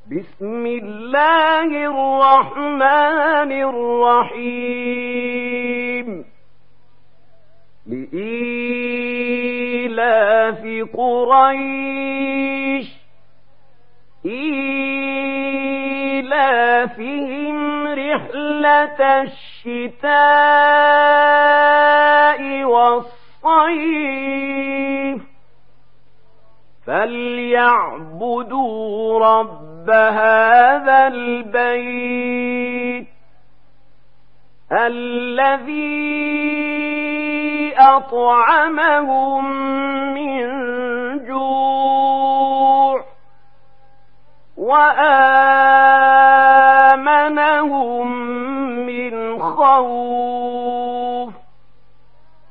بسم الله الرحمن الرحيم لإيلاف قريش إيلافهم رحلة الشتاء والصيف فليعبدوا رب هذا البيت الذي أطعمهم من جوع وآمنهم